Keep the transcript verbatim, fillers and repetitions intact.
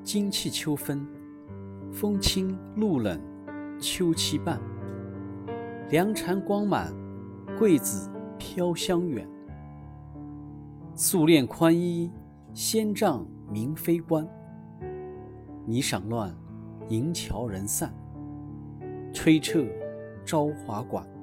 今气秋分，风清露冷，秋期半。凉蝉光满，桂子飘香远。素练宽衣，仙杖明妃冠。霓裳乱，银桥人散，吹彻朝华馆。